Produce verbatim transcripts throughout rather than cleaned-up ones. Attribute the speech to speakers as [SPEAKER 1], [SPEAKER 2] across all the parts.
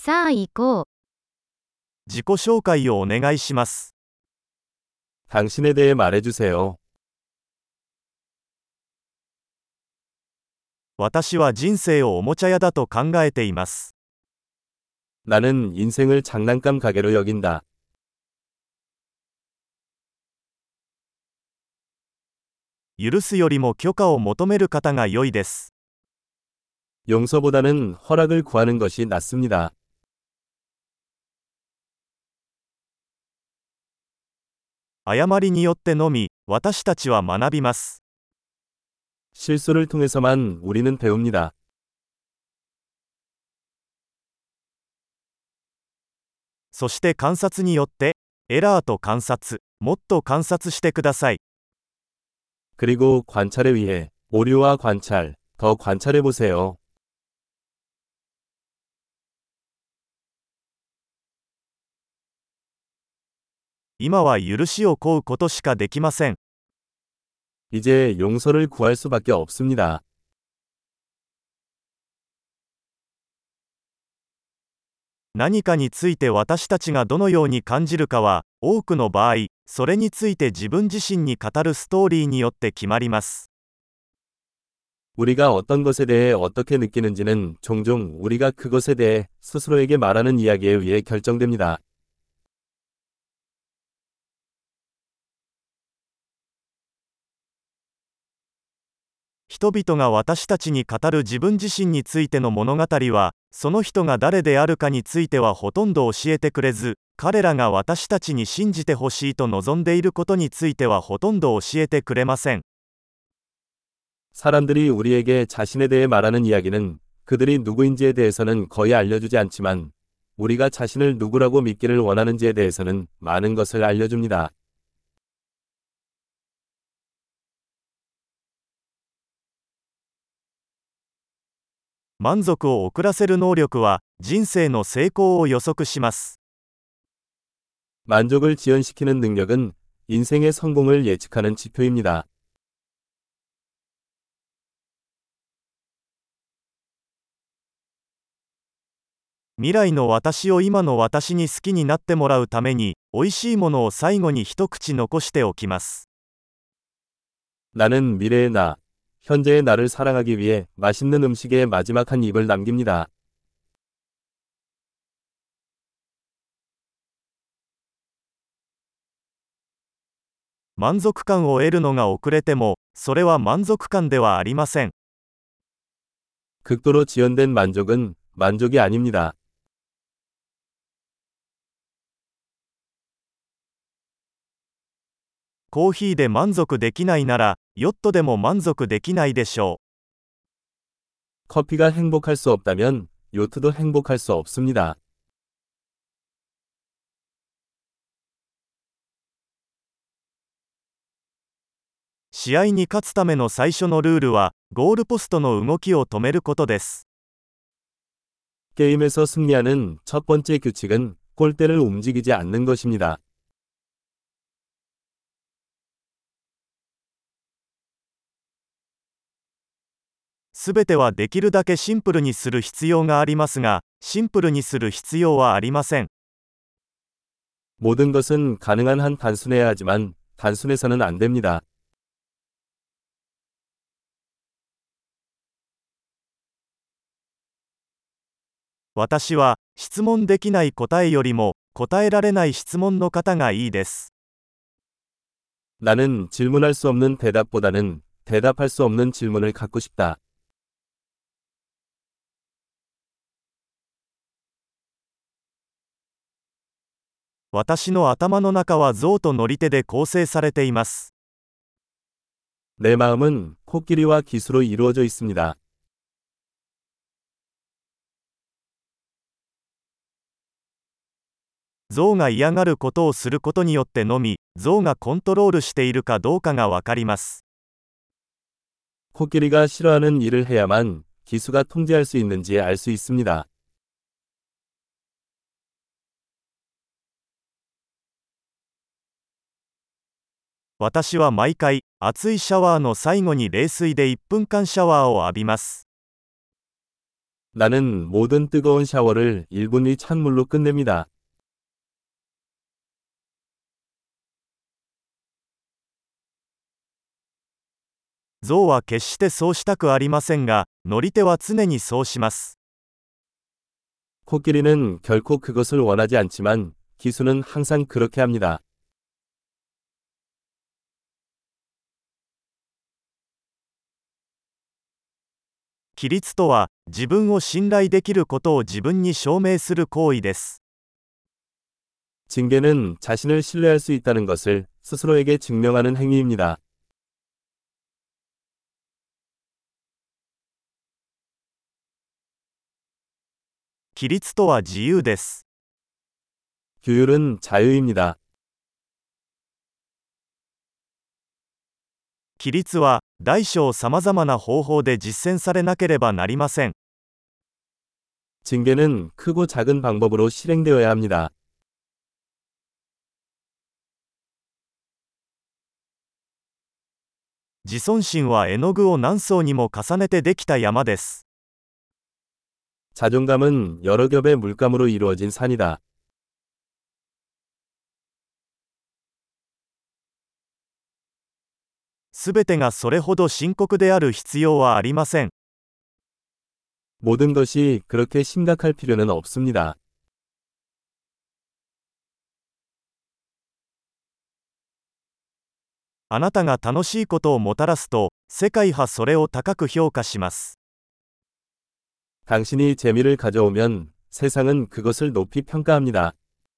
[SPEAKER 1] さあ行こう。
[SPEAKER 2] 自己紹介をお願いします。
[SPEAKER 3] 당신에 대해 말해주세요.
[SPEAKER 2] 私は人生をおもちゃ屋だと考えています。
[SPEAKER 3] 나는 인생을 장난감 가게로 여긴다.
[SPEAKER 2] 許すよりも許可を求める方が良いです。
[SPEAKER 3] 용서보다는 허락을 구하는 것이 낫습니다.
[SPEAKER 2] 誤りによってのみ、私たちは学びます。
[SPEAKER 3] 실수를 통해서만 우리는 배웁니다.
[SPEAKER 2] そして観察によって、エラーと観察、もっと観察してください。
[SPEAKER 3] 그리고 관찰에 의해 오류와 관찰, 더 관찰해 보세요.
[SPEAKER 2] 今は許しを請うことしかできません。
[SPEAKER 3] 이제 용서를 구할 수밖에 없습니다.
[SPEAKER 2] 何かについて私たちがどのように感じるかは、多くの場合、それについて自分自身に語るストーリーによって決まります。
[SPEAKER 3] 우리가 어떤 것에 대해 어떻게 느끼는지는 종종 우리가 그것에 대해 스스로에게 말하는 이야기에 의해 결정됩니다.
[SPEAKER 2] 人々が私たちに語る自分自身についての物語は、その人が誰であるかについてはほとんど教えてくれず、彼らが私たちに信じてほしいと望んでいることについてはほとんど教えてくれません。
[SPEAKER 3] 사람들이 우리에게 자신에 대해 말하는 이야기는 그들이 누구인지에 대해서는 거의 알려주지 않지만 우리가 자신을 누구라고 믿기를 원하는지에 대해서는 많은 것을 알려줍니다.
[SPEAKER 2] 満足を遅らせる能力は、人生の成功を予測します。
[SPEAKER 3] 만족을 지연시키는 능력은 인생의 성공을 예측하는 지표입니다.
[SPEAKER 2] 未来の私を今の私に好きになってもらうために、美味しいものを最後に一口残しておきます。
[SPEAKER 3] 나는 미래의 나, 현재의 나를 사랑하기 위해 맛있는 음식에 마지막 한 입을 남깁니다.
[SPEAKER 2] 満足感を得るのが遅れても、それは満足感ではありません。
[SPEAKER 3] 극도로 지연된 만족은 만족이 아닙니다.
[SPEAKER 2] コーヒーで満足できないなら、ヨットでも満足できないでしょう。
[SPEAKER 3] 커피가 행복할 수 없다면 요트도 행복할 수 없습니다.
[SPEAKER 2] 試合に勝つための最初のルールは、ゴールポストの動きを止めることです。
[SPEAKER 3] 게임에서 승리하는 첫 번째 규칙은 골대를 움직이지 않는 것입니다.
[SPEAKER 2] すべてはできるだけシンプルにする必要がありますが、シンプルにする必要はありません。
[SPEAKER 3] 모든 것은 가능한 한 단순해야 하지만 단순해서는 안 됩니다.
[SPEAKER 2] 私は、質問できない答えよりも、答えられない質問の方がいいです。
[SPEAKER 3] 나는 질문할 수 없는 대답보다는 대답할 수 없는 질문을 갖고 싶다.
[SPEAKER 2] 私の頭の中は象と乗り手で構成されています。
[SPEAKER 3] 내 마음은 코끼리와 기수로 이루어져 있습니다.
[SPEAKER 2] 象が嫌がることをすることによってのみ、象がコントロールしているかどうかがわかります。
[SPEAKER 3] 코끼리가 싫어하는 일을 해야만 기수가 통제할 수 있는지 알 수 있습니다.
[SPEAKER 2] 私は毎回、熱いシャワーの最後に冷水でいっぷんかんシャワーを浴びます。
[SPEAKER 3] 나는 모든 뜨거운 샤워를 일 분 이 찬물로 끝냅니다.
[SPEAKER 2] 象は決してそうしたくありませんが、乗り手は常にそうします。
[SPEAKER 3] 코끼리는 결코 그것을 원하지 않지만 기수는 항상 그렇게 합니다.
[SPEAKER 2] 規律とは、自分を信頼できることを自分に証明する行為です。
[SPEAKER 3] 징계는 자신을 신뢰할 수 있다는 것을 스스로에게 증명하는 행위입니다.
[SPEAKER 2] 規律とは自由です。
[SPEAKER 3] 규율은 자유입니다.
[SPEAKER 2] 規律は、大小さまざまな方法で実践されなければなりません。
[SPEAKER 3] 징계는 크고 작은 방법으로 실행되어야 합니다.
[SPEAKER 2] 自尊心は絵の具を何層にも重ねてできた山です。
[SPEAKER 3] 자존감은 여러 겹의 물감으로 이루어진 산이다.
[SPEAKER 2] すべてがそれほど深刻である必要はありません。
[SPEAKER 3] 모든 것이 그렇게 심각할 필요는 없습니다.
[SPEAKER 2] あなたが楽しいことをもたらすと、世界はそれを高く評価します。
[SPEAKER 3] 당신이 재미를 가져오면 세상은 그것을 높이 평가합니다.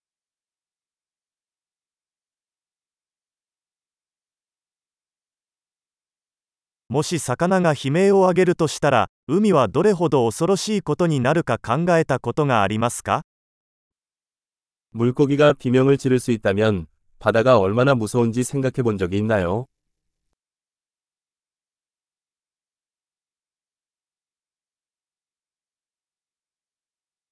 [SPEAKER 2] もし魚が悲鳴を上げるとしたら、海はどれほど恐ろしいことになるか考えたことがありますか？
[SPEAKER 3] 물고기가 비명을 지를 수 있다면 바다가 얼마나 무서운지 생각해 본 적이 있나요?